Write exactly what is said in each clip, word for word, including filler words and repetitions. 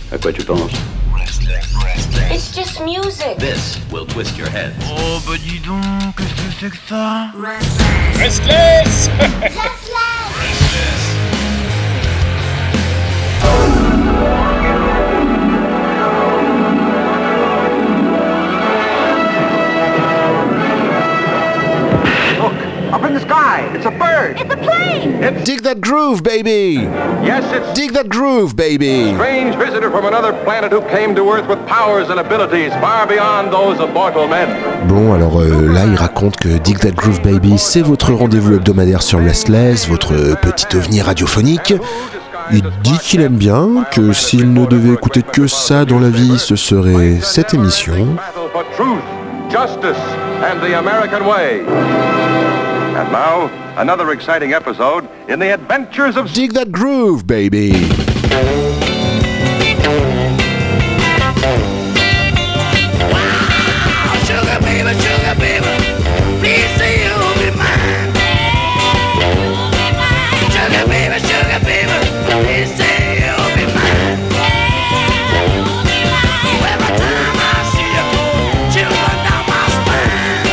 À quoi tu penses? It's just music. This will twist your head. Oh bah dis donc, qu'est-ce que c'est que ça? Restless. Restless. Up in the sky, it's a bird. It's a plane. It's Dig that groove, baby! yes, it's Dig that groove, baby! strange visitor from another planet who came to Earth with powers and abilities far beyond those of mortal men. Bon, alors euh, là, il raconte que Dig That Groove Baby, c'est votre rendez-vous hebdomadaire sur Restless, votre petit ovni radiophonique. Il dit qu'il aime bien, que s'il ne devait écouter que ça dans la vie, ce serait cette émission. Battle for truth, justice, and the American way. And now, another exciting episode in the adventures of Dig That Groove, baby! Sugar baby, sugar baby, please say you'll be mine. Sugar baby, sugar baby, please say you'll be mine. Every time I see you, children down my spine.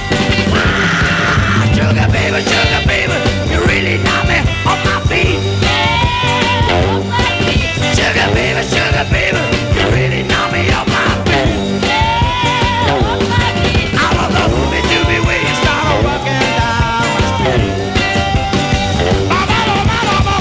Sugar baby, sugar baby, you really knock me off my feet. Sugar baby, sugar baby, you really knock me off my feet. I was a movie to be where you started walking down the street. Ba ba ba ba ba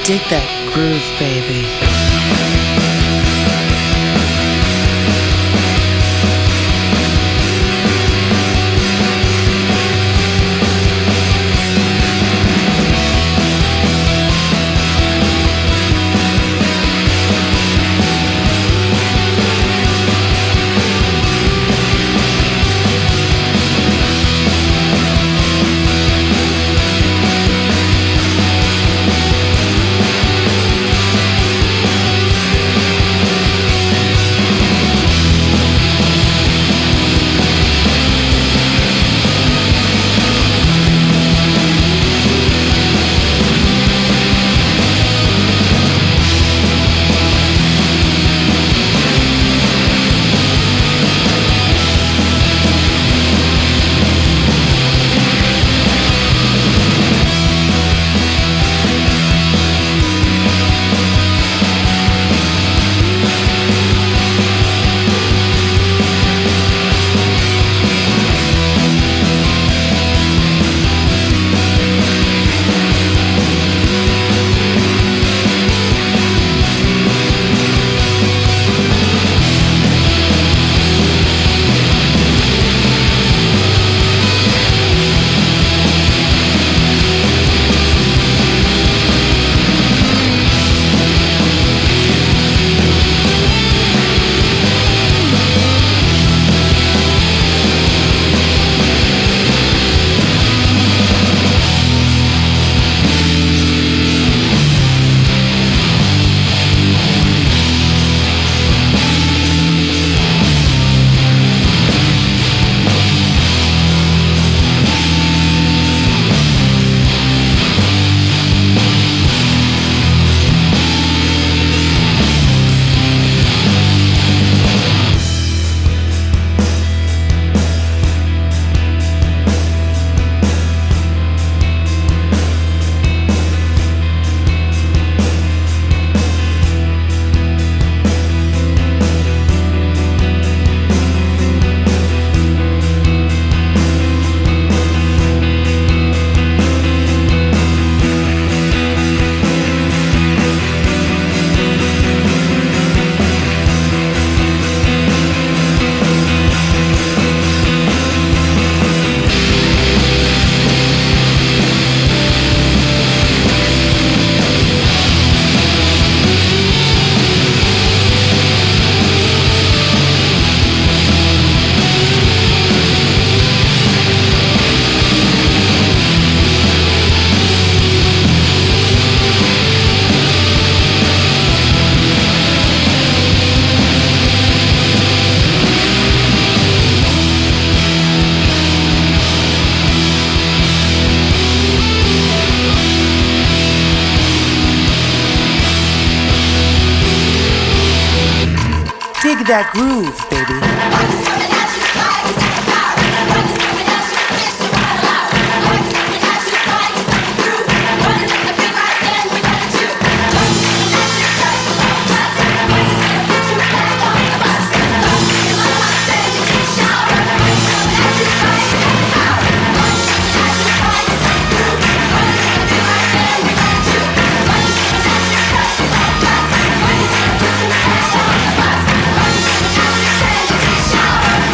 Dig that groove, baby. Dig that groove, baby. Shower!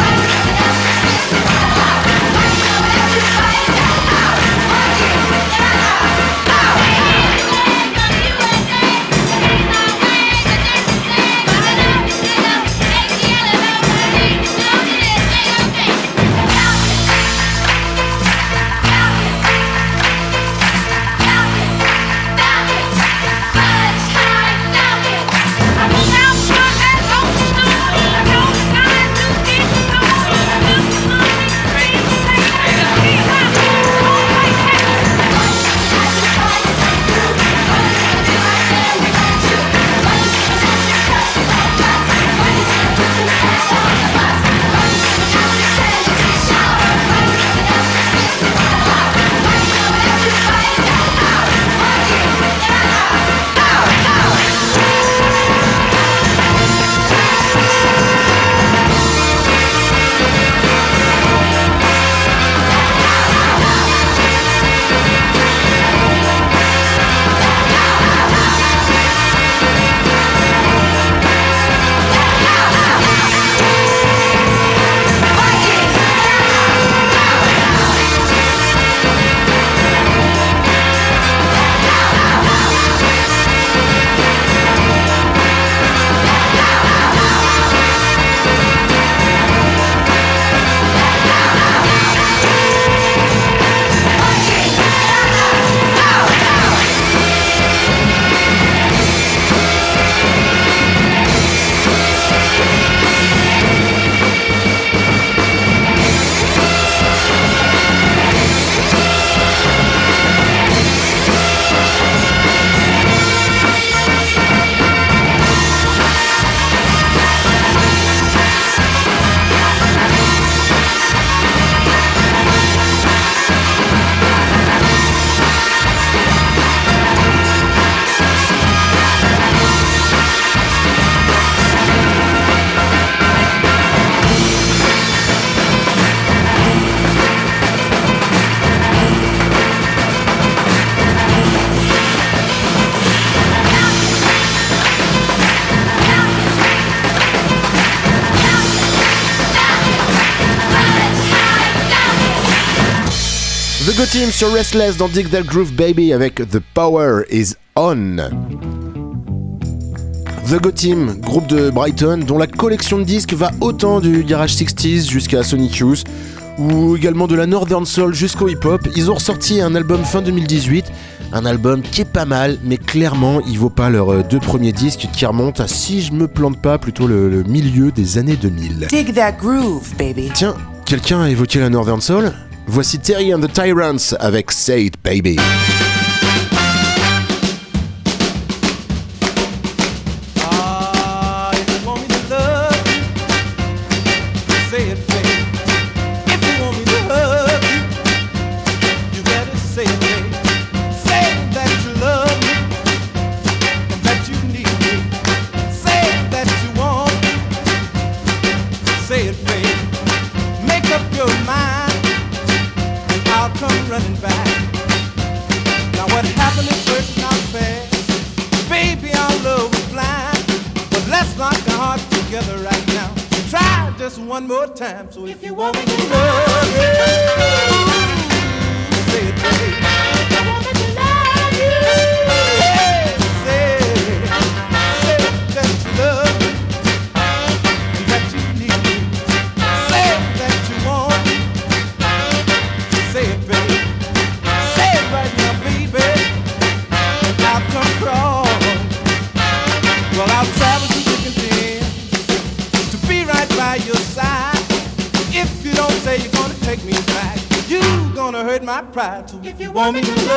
The Go Team sur Restless dans Dig That Groove Baby avec The Power Is On. The Go Team, groupe de Brighton dont la collection de disques va autant du garage sixties jusqu'à Sonic Youth ou également de la Northern Soul jusqu'au hip-hop. Ils ont ressorti un album fin deux mille dix-huit, un album qui est pas mal, mais clairement il vaut pas leurs deux premiers disques qui remontent à, si je me plante pas, plutôt le, le milieu des années deux mille. Dig that groove, baby. Tiens, quelqu'un a évoqué la Northern Soul ? Voici Terry and the Tyrants avec Say It Baby. One more time, so if you want me to love you, say it, baby. If you want me to love you, hey, say, say that you love me, that you need me, say that you want me, say it, baby, say it right now, baby. I'll come crawling, well, I'll travel to the continent to be right by your side. If you don't say you're gonna take me back, you gonna hurt my pride. So if you want me to love you,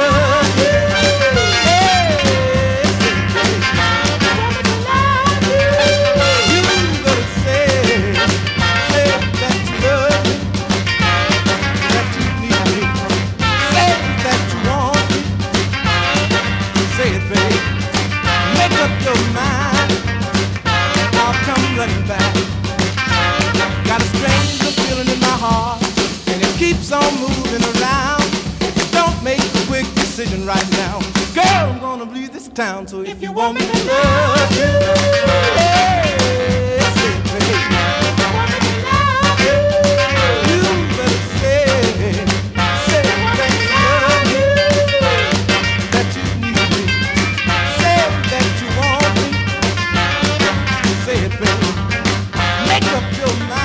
hey, say, baby, if you want me to love you, you gotta say, say that you love me, that you need me, say that you want me, say it, baby, make up your mind, I'll come running back. Got a strange feeling in my heart, and it keeps on moving around. If you don't make a quick decision right now, girl, I'm gonna leave this town. So if you want me to love you, hey, say it, baby. If you want me to love you, you better say, say that you love me, that you need me, say that you want me, say it, baby. Make up your mind.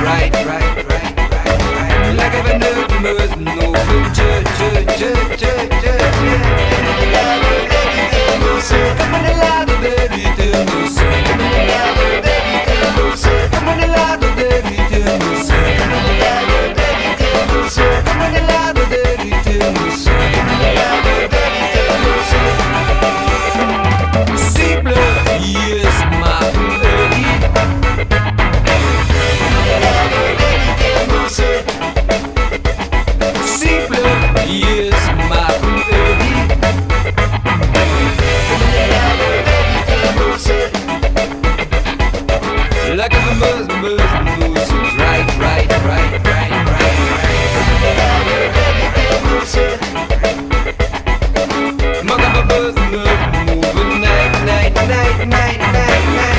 right, right, right, right, right. Like I've been doing most no food, ch ch ch ch ch. Come on, lado del ritmo, come on, lado del ritmo, come on, lado del ritmo, come on, lado del ritmo, simple, yes, my lady. Simple, yes, my lady. Like a buzz, buzz, buzz, right, right, right, right, right, right. Mother of a buzz, move, moving night, night, night, night, night, night.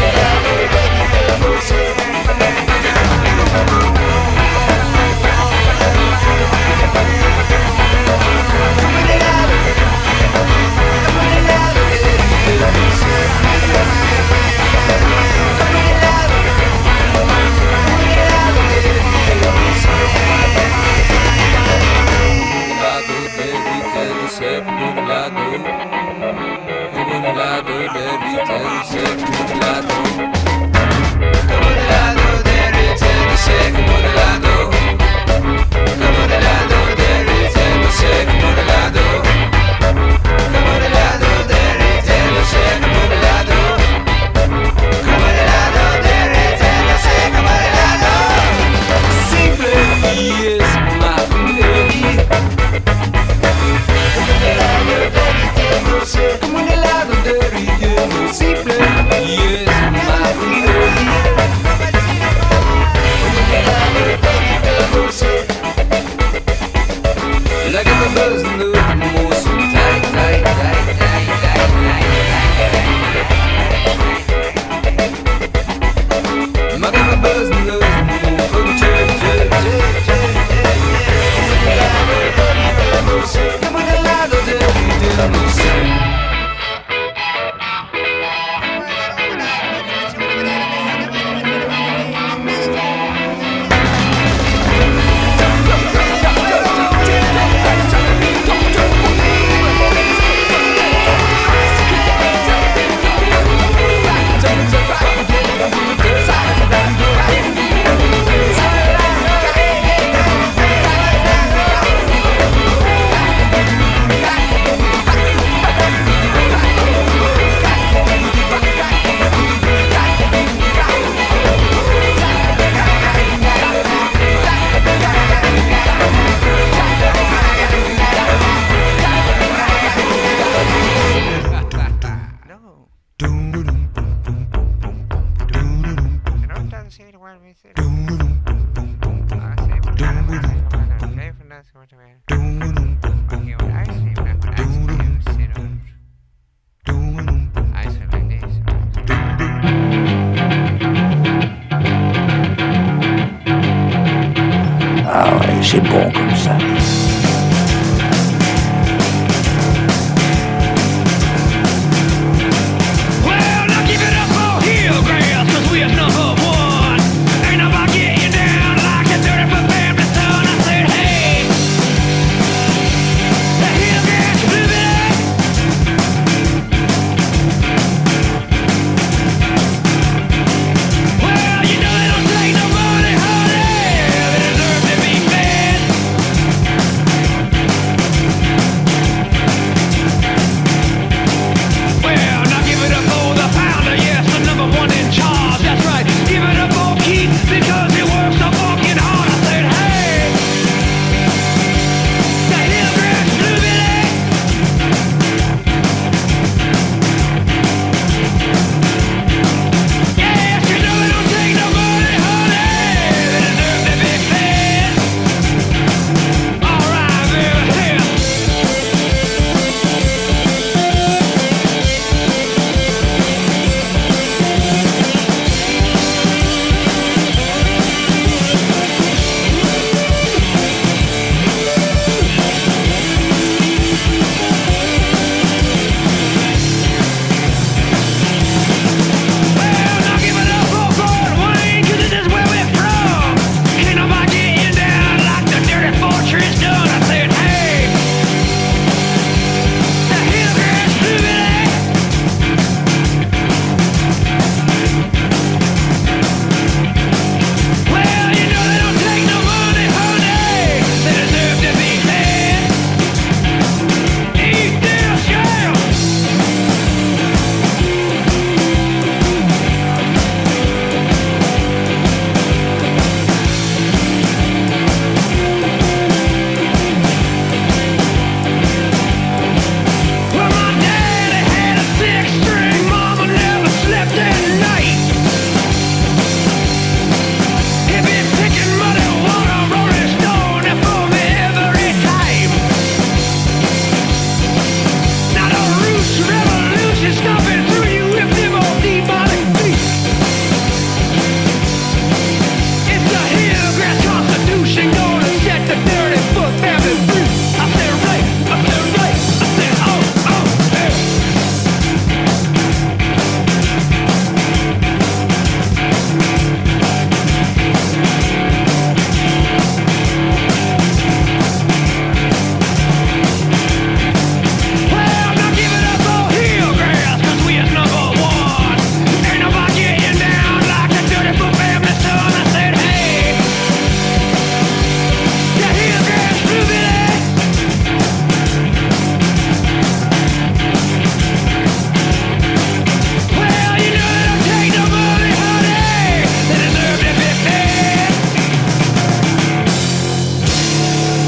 C'est bon comme ça.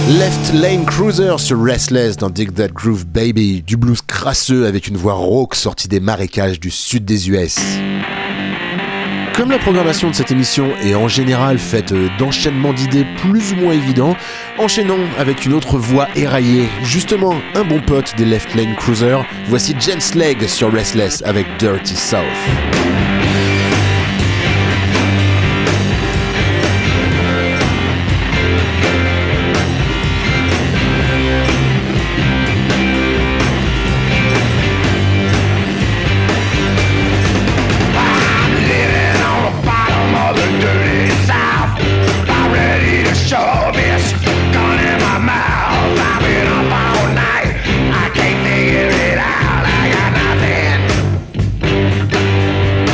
Left Lane Cruiser sur Restless dans Dig That Groove Baby, du blues crasseux avec une voix rauque sortie des marécages du sud des U S. Comme la programmation de cette émission est en général faite d'enchaînements d'idées plus ou moins évidents, enchaînons avec une autre voix éraillée, justement un bon pote des Left Lane Cruiser, voici James Legg sur Restless avec Dirty South. I can't figure it out. I got nothing.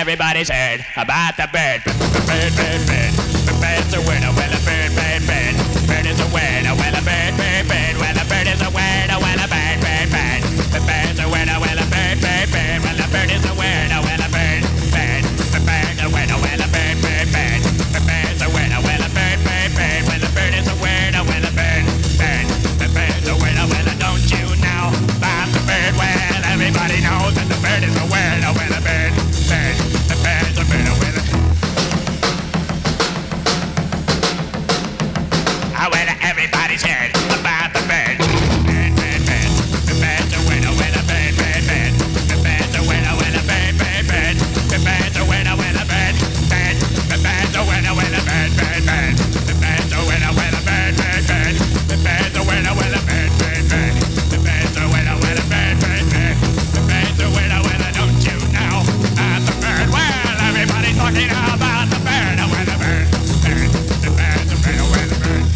everybody's heard about the bird. Bird, bird, bird. The bird's a winner. Well, a bird, bird, bird. Bird is a winner. Well, a bird, bird, bird. Well, a bird is a winner. Well, a bird, bird, bird. The bird's a winner. Well, a bird, bird, bird. Well, a bird is a winner. Well, a bird, bird. The bird's a winner. Well, a bird, bird, bird. The bird's a winner. Well, a bird, bird, bird. Well, the bird is a winner. Well, a bird, bird. The bird's a winner. Well, don't you know about the bird? Well, everybody knows that the bird is a winner. Well, a bird, bird. The bird's a winner. Well, I well, everybody's heard about the bird. Bird, bird, bird. The bird's a winner. Well, a bird, bird, bird. The bird's a winner. Well, a bird, bird, bird. The bird's a winner. Well, a bird, bird. The bird's a winner. Well, a bird, bird, bird. The bird's a winner. Well, a bird, bird, bird. The bird's a winner. Well, a bird, bird, bird. The bird's a winner. Well, a bird, bird, bird. The bird's a winner. Well, don't you know about the bird? Well, everybody's talking about the bird. Well, the bird, bird. The bird's a winner. Well, the bird.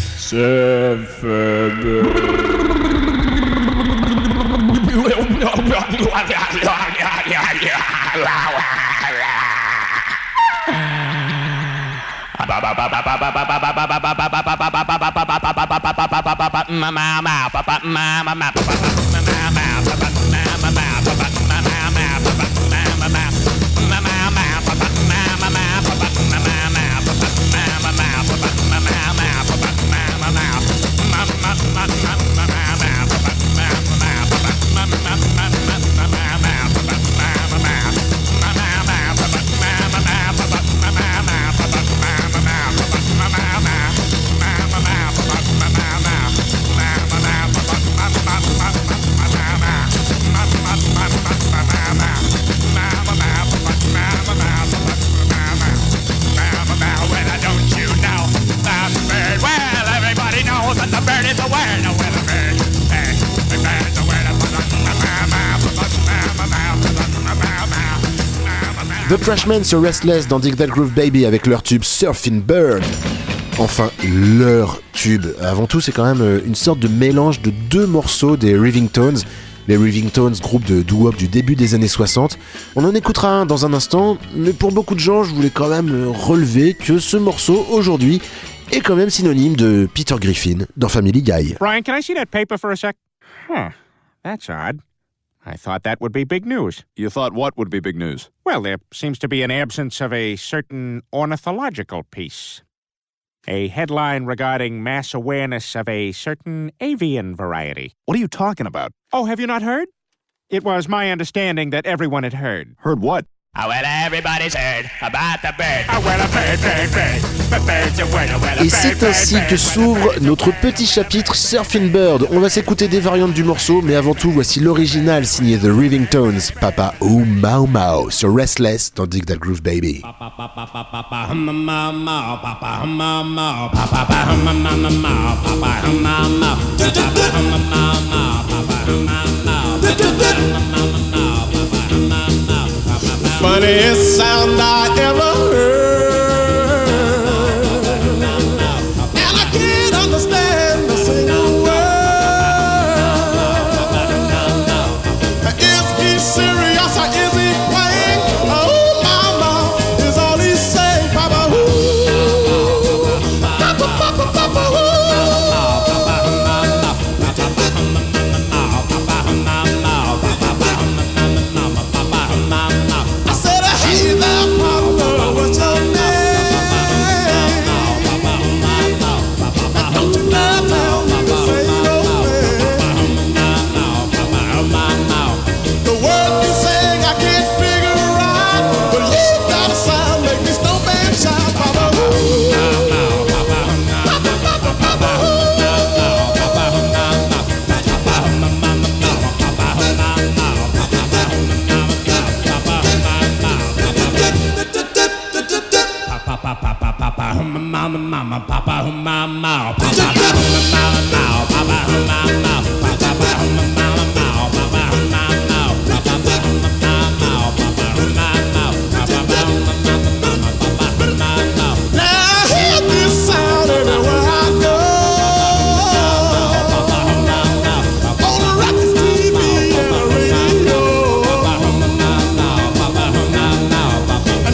The Trashmen sur Restless dans Dig That Groove Baby avec leur tube Surfing Bird. Enfin, leur tube. Avant tout, c'est quand même une sorte de mélange de deux morceaux des Rivingtones. Les Rivingtones, groupe de doo-wop du début des années soixante. On en écoutera un dans un instant, mais pour beaucoup de gens, je voulais quand même relever que ce morceau, aujourd'hui, est quand même synonyme de Peter Griffin dans Family Guy. Brian, can I see that paper for a sec? Huh, that's odd. I thought that would be big news. You thought what would be big news? Well, there seems to be an absence of a certain ornithological piece. A headline regarding mass awareness of a certain avian variety. What are you talking about? Oh, have you not heard? It was my understanding that everyone had heard. Heard what? Oh, well, everybody's heard about the bird. Oh, well, a bird, bird, bird. The bird's a winner. Well, a Et c'est ainsi que s'ouvre notre petit chapitre Surfing Bird. On va s'écouter des variantes du morceau, mais avant tout, voici l'original signé The Rivingtones, Papa Oom Mau Mau, sur Restless dans Dig That Groove Baby. Funniest sound I ever heard, and I can't understand a single word. Is he serious or is he playing? Oh, mama, is all he saying, Papa, ooh, Papa, Papa, Papa, ooh. Mama, mama, papa, mama, papa, mama, mama, papa, mama, papa, mama, now I hear this sound everywhere I go. On the record, T V, and the radio.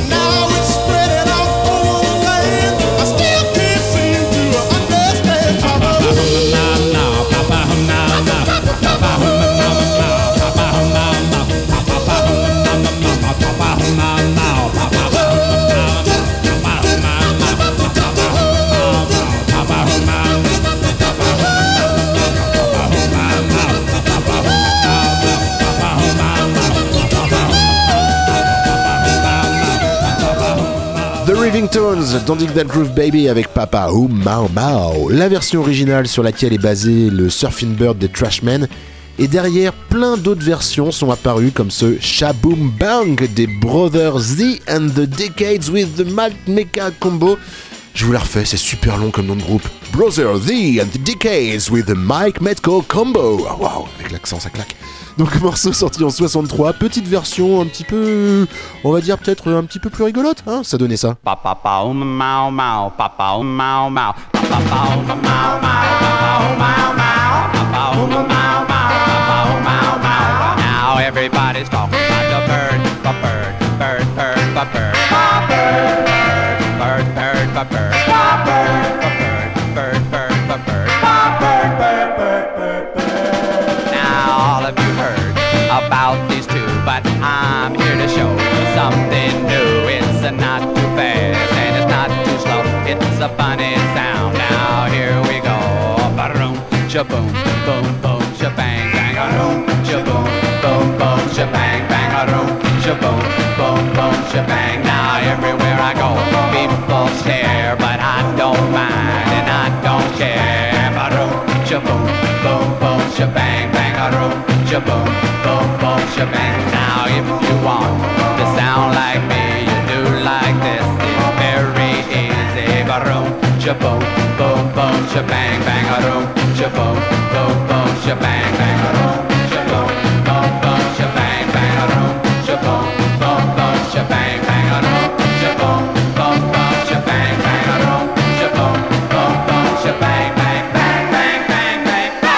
Raving Tones dans Dig That Groove Baby avec Papa Oum Mao Mao, la version originale sur laquelle est basé le Surfing Bird des Trashmen. Et derrière, plein d'autres versions sont apparues comme ce Shaboom Bang des Brothers Z and the Decades with the Mike Mecca Combo. Je vous la refais, c'est super long comme nom de groupe. Brothers Z and the Decades with the Mike Metco Combo. Ah, waouh, avec l'accent ça claque. Donc morceau sorti en soixante-trois, petite version un petit peu, on va dire peut-être un petit peu plus rigolote, hein, ça donnait ça. Papa pao mao mao, papa mao mao, papa pao mao mao, papa mao mao, papa mao mao, papa mao mao. Now everybody's talking about the bird, the bird, bird, bird, the bird, bird, bird, bird, the bird, bird, bird, bird, bird, the bird, bird, bird, bird, bird, bird. Now all of you heard about these two, but I'm here to show you something new. It's a not too fast and it's not too slow. It's a funny sound. Now here we go. Ba-doom, shaboom, boom, boom, shabang, bang, a-doom, shaboom, boom, boom, shabang, bang, a-doom, shaboom, boom, boom, shabang. Now everywhere I go, people stare, but I don't mind and I don't care. Ba-doom, shaboom, boom, boom, shabang, bang, a-doom, shaboom, boom, boom, shabang. Now if you want to sound like me, you do like this. It's very easy. Ba-doom, shaboom, boom, boom, shabang, bang, a-doom, shaboom, boom, boom, shabang, bang, a-doom, shaboom, boom, boom, shabang, bang, a-doom, shaboom, boom, boom, shabang, bang, a-doom, shaboom, boom, boom, shabang, bang, a-doom, shaboom, boom, boom, shabang, bang, bang, bang, bang, bang, bang.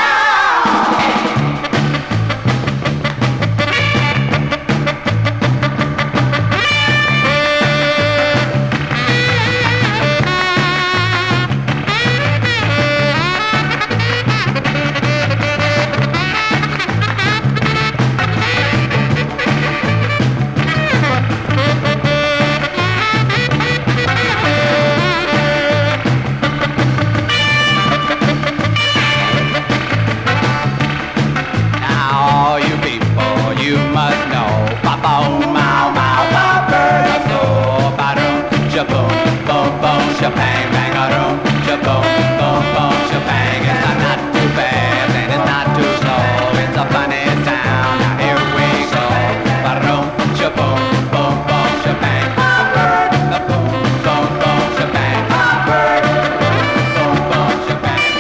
Shabang, bang, a-doom, shaboom, boom, boom, shabang. It's a not too fast and it's not too slow. It's a funny sound. Now here we go. Ba-doom, shaboom, boom, boom, shabang. The boom, boom, boom, shabang. Boom, boom, shabang.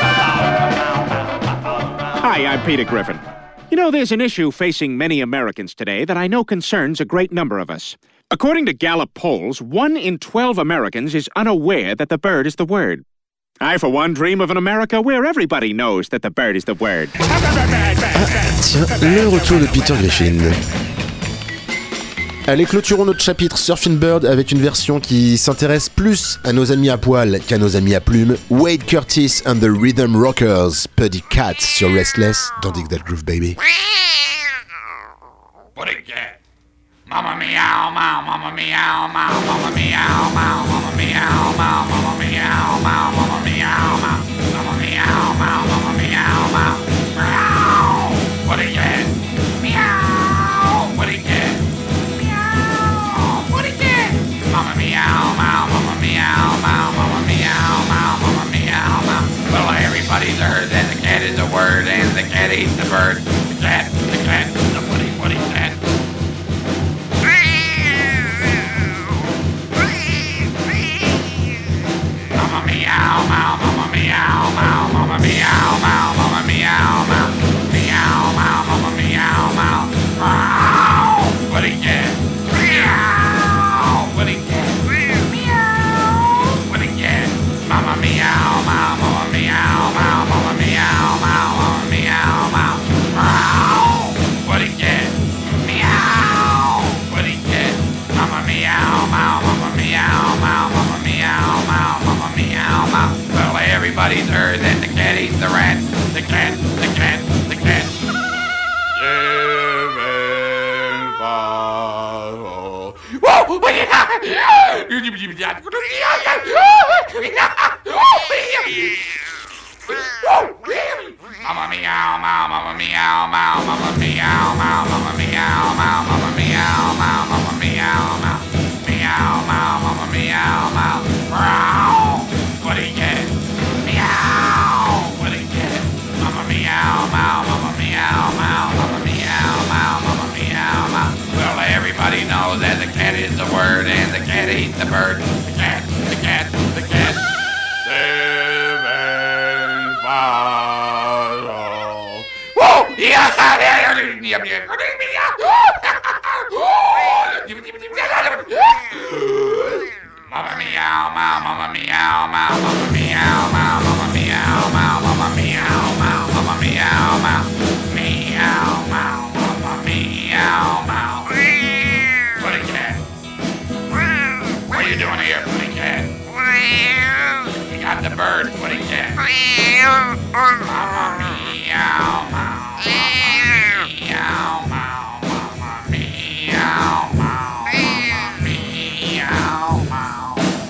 Hi, I'm Peter Griffin. You know, there's an issue facing many Americans today that I know concerns a great number of us. According to Gallup polls, one in twelve Americans is unaware that the bird is the word. I, for one, dream of an America where everybody knows that the bird is the word. Tiens, le retour de Peter Griffin. Allez, clôturons notre chapitre Surfing Bird avec une version qui s'intéresse plus à nos amis à poil qu'à nos amis à plumes. Wade Curtis and the Rhythm Rockers, Puddy Cat sur Restless dans Dig That Groove Baby. Puddy Cat. Mama meow, meow, mama meow, meow, mama meow, meow, mama meow, meow, mama meow, meow, mama meow, meow, mama meow, meow, mama meow, meow, meow. What a cat? Meow. What a cat? Meow. What a cat? Mama meow, meow, mama meow, meow, mama meow, meow, mama meow, meow. Well, everybody's heard that the cat is a word and the cat eats the bird. The cat, the cat, the woody, woody cat. Mama meow, meow, mama meow, meow, mama meow, meow, mama meow, meow, meow, meow, mama meow, meow, meow. What a cat? Meow. What a cat? Meow. What a cat? Mama meow, meow, mama meow, meow, mama meow, meow, mama meow, meow, meow. What a cat? Meow. What a cat? Mama meow, meow, mama meow, meow, mama meow, meow, mama meow, meow. Well, everybody's heard that the cat eats the rat. The cat, the cat, the cat. Seven, five, oh. Whoa! Mama meow, meow, mama meow, meow, mama meow, meow, mama meow, meow, mama meow, meow, mama meow, meow, meow, meow, mama meow, meow. cat ate the bird. The cat, the cat, the cat. Seven follow. Whoa! Yeah! Mamma meow, meow, mamma meow, meow, mamma meow, meow, mamma meow, meow, mamma meow, meow, mamma meow, meow, meow, meow, mamma meow, meow. Putty cat. What are you doing here, Putty cat? You got the bird, Putty cat. Mamma meow, meow, meow, meow, mamma meow, meow, meow, meow.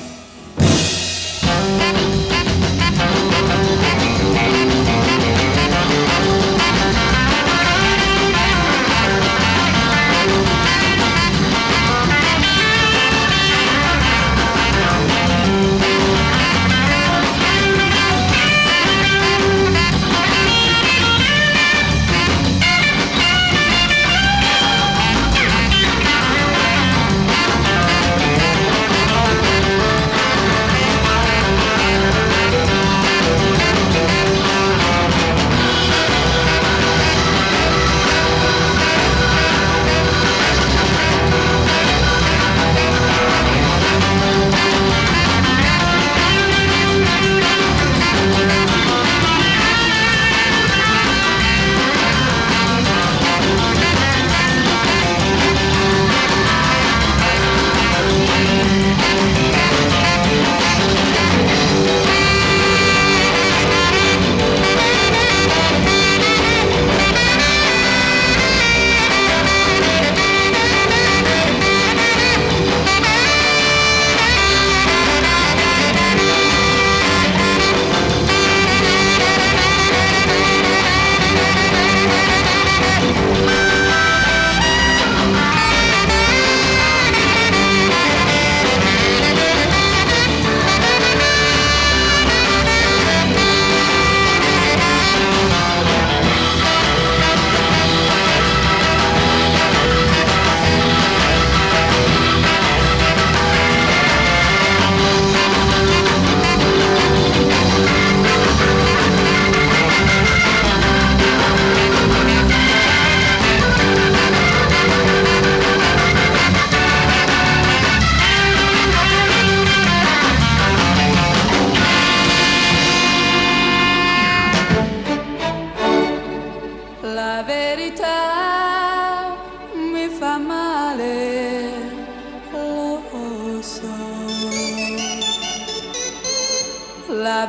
La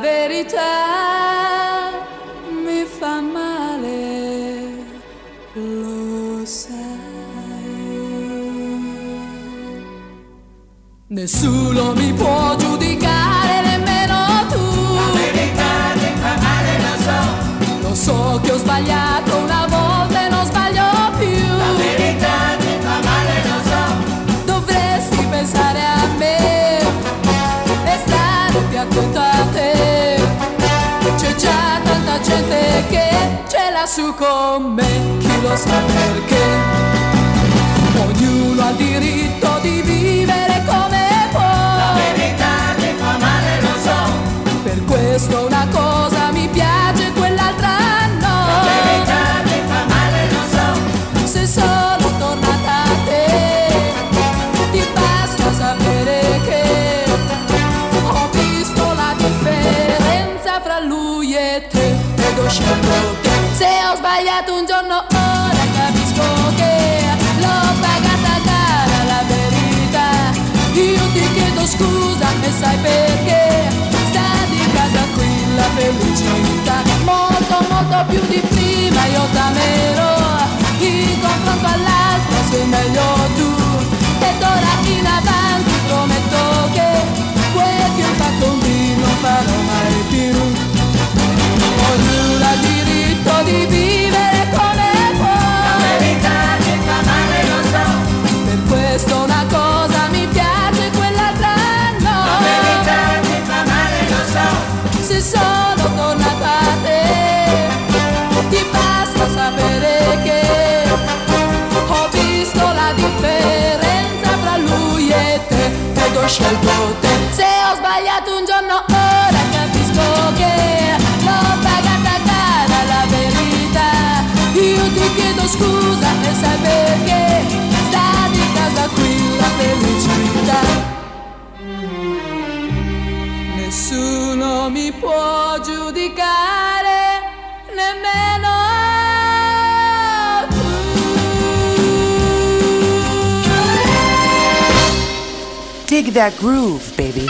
verità mi fa male, lo sai. Nessuno mi può giudicare, nemmeno tu. La verità mi fa male, lo so. Lo so che ho sbagliato una volta e non sbaglio più. La verità mi fa male, lo so. Dovresti pensare a me e stare più attento a te. C'è già tanta gente che ce l'ha su con me, chi lo sa perché. Ognuno ha il diritto di vivere come può. La verità mi fa male, lo so. Per questo una cosa mi piace, quell'altra no. La verità mi fa male, lo so. Se sono tornata a te, ti basta sapere che ho visto la differenza fra lui e te ed ho scelto te. Se ho sbagliato un giorno ora capisco che l'ho pagata cara la verità. Io ti chiedo scusa e sai perché sta di casa qui la felicità. Molto molto più di prima io t'amerò, in confronto all'altro sei meglio tu. Ed ora in avanti prometto che quel che ho fatto con te non farò mai più. Ognuno ha il diritto di vivere come può. La verità mi fa male, lo so. Per questo una cosa mi piace, quell'altra no. La verità mi fa male, lo so. Se sono tornata a te, ti basta sapere che ho visto la differenza fra lui e te ed ho sai perché sta di casa qui la felicità. Nessuno mi può giudicare, nemmeno tu. Dig that groove, baby.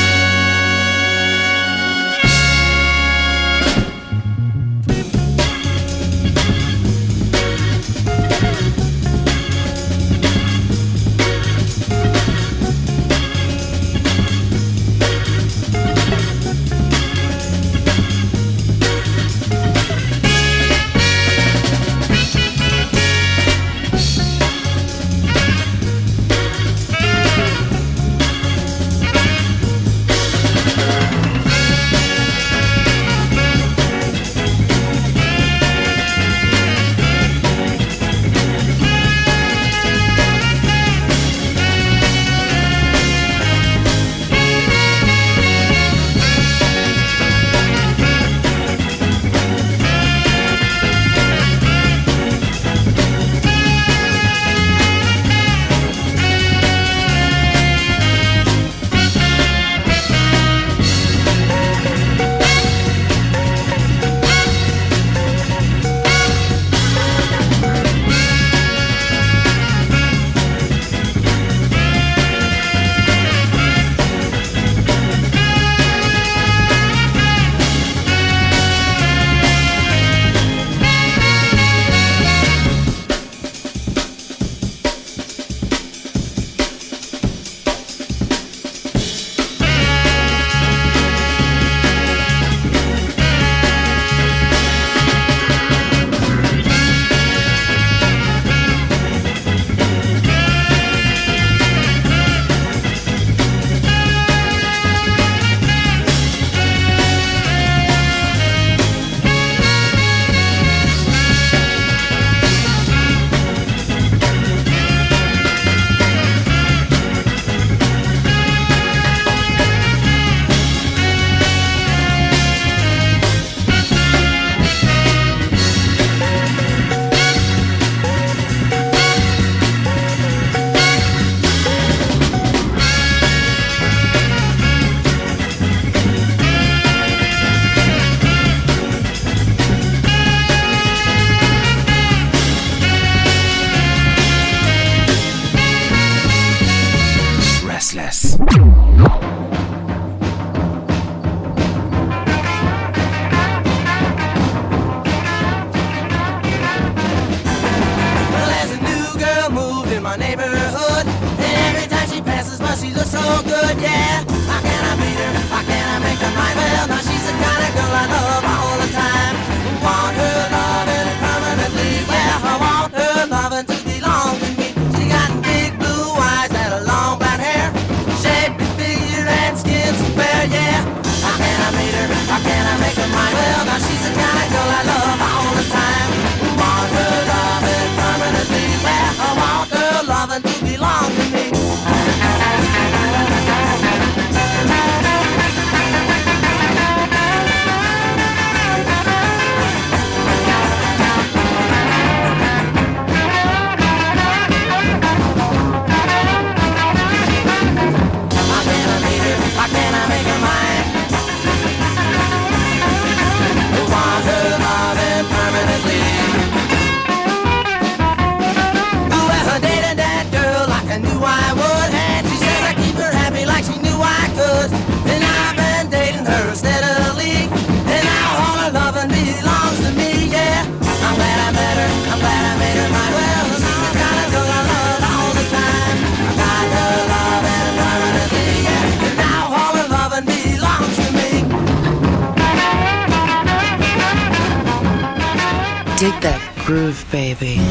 Dig that groove, baby.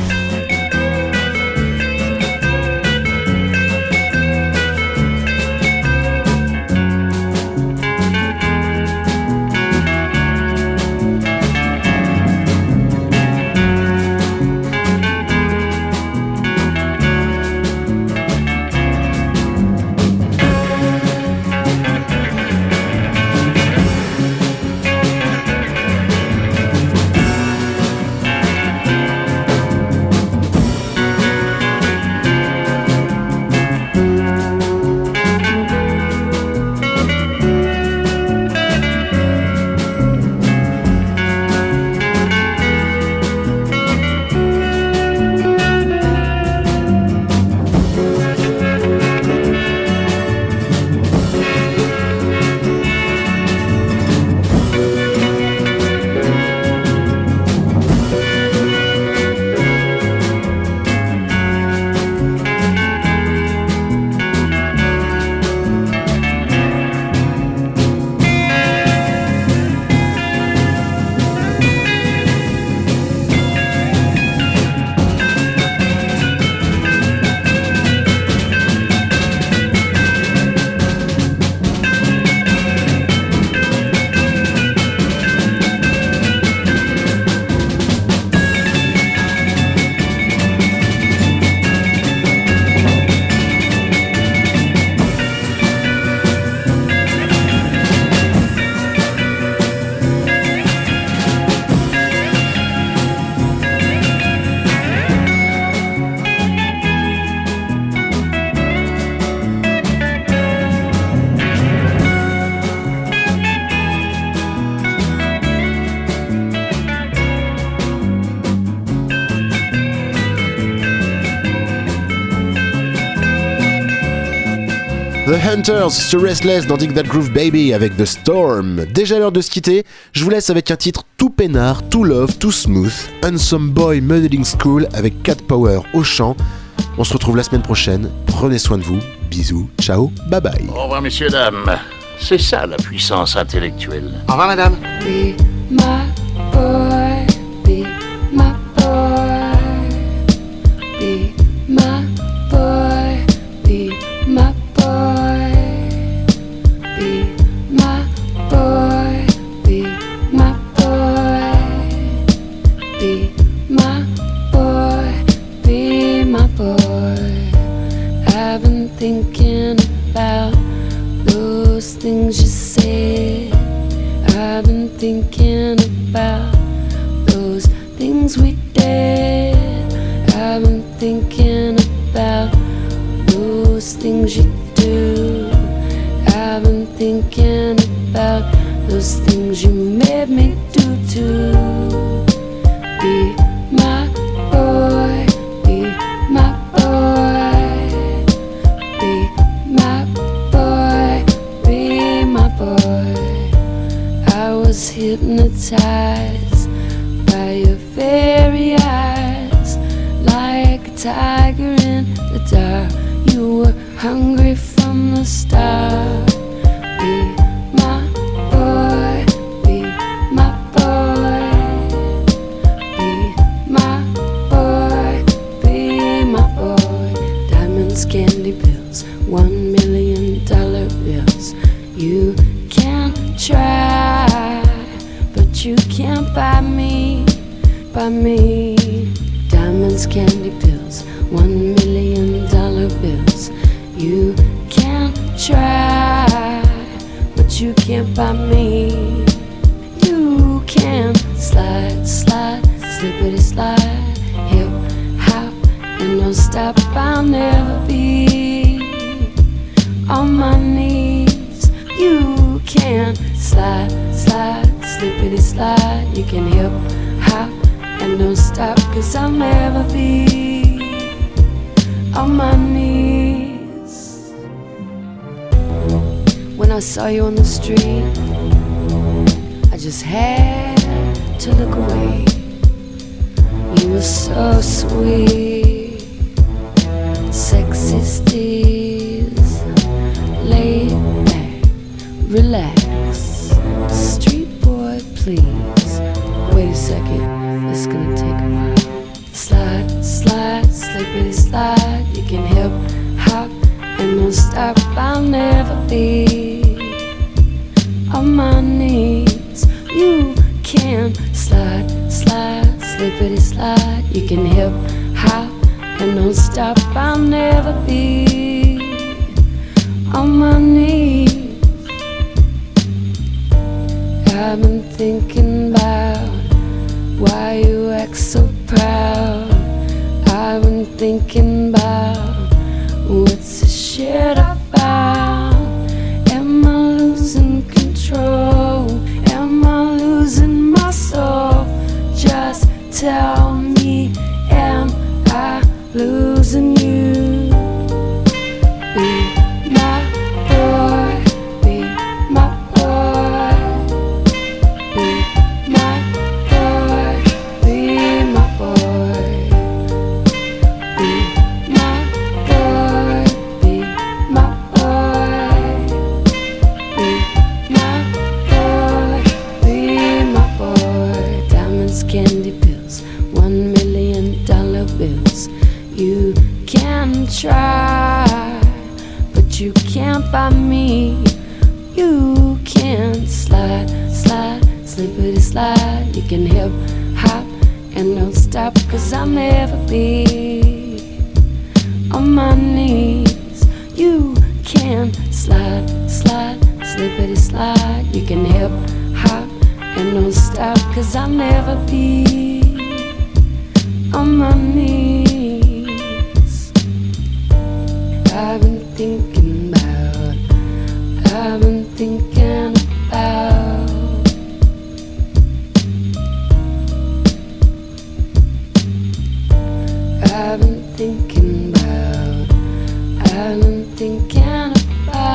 The Hunters sur Restless dans Dig That Groove Baby avec The Storm. Déjà l'heure de se quitter, je vous laisse avec un titre tout peinard, tout love, tout smooth, Handsome Boy Modeling School avec Cat Power au chant. On se retrouve la semaine prochaine, prenez soin de vous, bisous, ciao, bye bye. Au revoir messieurs, dames, c'est ça la puissance intellectuelle. Au revoir madame. Be my boy, be my boy, be my boy, be my boy, be my boy, be my boy, be my boy, be my boy. I've been thinking about those things you said. I've been thinking about those things we did. I've been thinking about those things you do. I've been thinking about those things you made me do too. Be my boy, be my boy, be my boy, be my boy. I was hypnotized by your very eyes, like a tiger in the dark. You were hungry from the start. Be my boy, be my boy, be my boy, be my boy. Diamonds, candy pills, one million dollar bills. You can try, but you can't buy me, buy me. Diamonds, candy pills, one million dollar bills. You can try, but you can't buy me. You can slide, slide, slippity slide, hip hop, and don't stop. I'll never be on my knees. You can slide, slide, slippity slide. You can hip hop and don't stop, 'cause I'll never be on my knees. When I saw you on the street, I just had to look away. You were so sweet, sexy steez, laid back, relax, street boy please. Wait a second, it's gonna take a while. Slide, slide, slippity slide. You can hip hop and don't stop. I'll never be on my knees. You can slide, slide, slippity slide. You can hip hop and don't stop. I'll never be on my knees. I've been thinking about why you act so proud. I've been thinking about what's this shit about. Am I losing control? Am I losing my soul? Just tell me, am I losing you? Be my boy, be my boy, be my boy, be my boy, be my boy, be my boy, be my boy, be my boy. Diamonds, candy pills, one million dollar bills. You can try, but you can't buy me. You can slide, slide, slippity slide. You can hip hop and don't stop, 'cause I'll never be on my knees. You can slide, slide, slippity slide. You can hip hop and don't stop, 'cause I'll never be on my knees. I've been thinking about, I've been thinking about. I've been thinking about, I've been thinking about.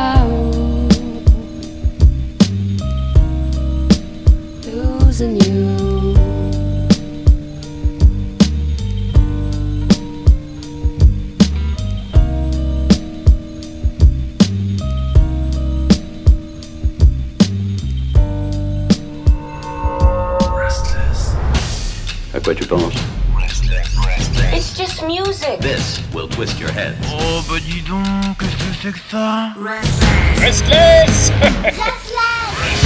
À quoi tu penses? It's just music. This will twist your head. Oh, bah dis donc, qu'est-ce que c'est que ça? Restless. Restless.